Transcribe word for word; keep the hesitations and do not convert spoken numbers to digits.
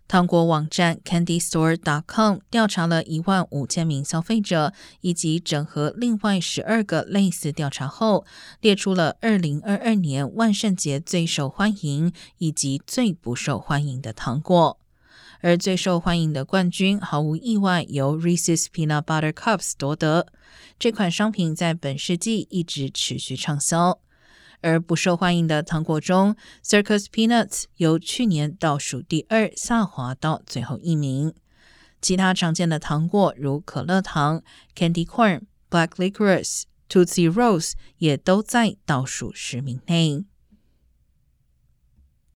糖果网站 candy store dot com 调查了一万五千名消费者，以及整合另外十二个类似调查后，列出了二零二二年万圣节最受欢迎以及最不受欢迎的糖果。而最受欢迎的冠军毫无意外由 Reese's Peanut Butter Cups 夺得，这款商品在本世纪一直持续畅销。而不受欢迎的糖果中 Circus Peanuts 由去年倒数第二下滑到最后一名。其他常见的糖果如可乐糖、Candy Corn、Black Licorice、Tootsie Rolls 也都在倒数十名内。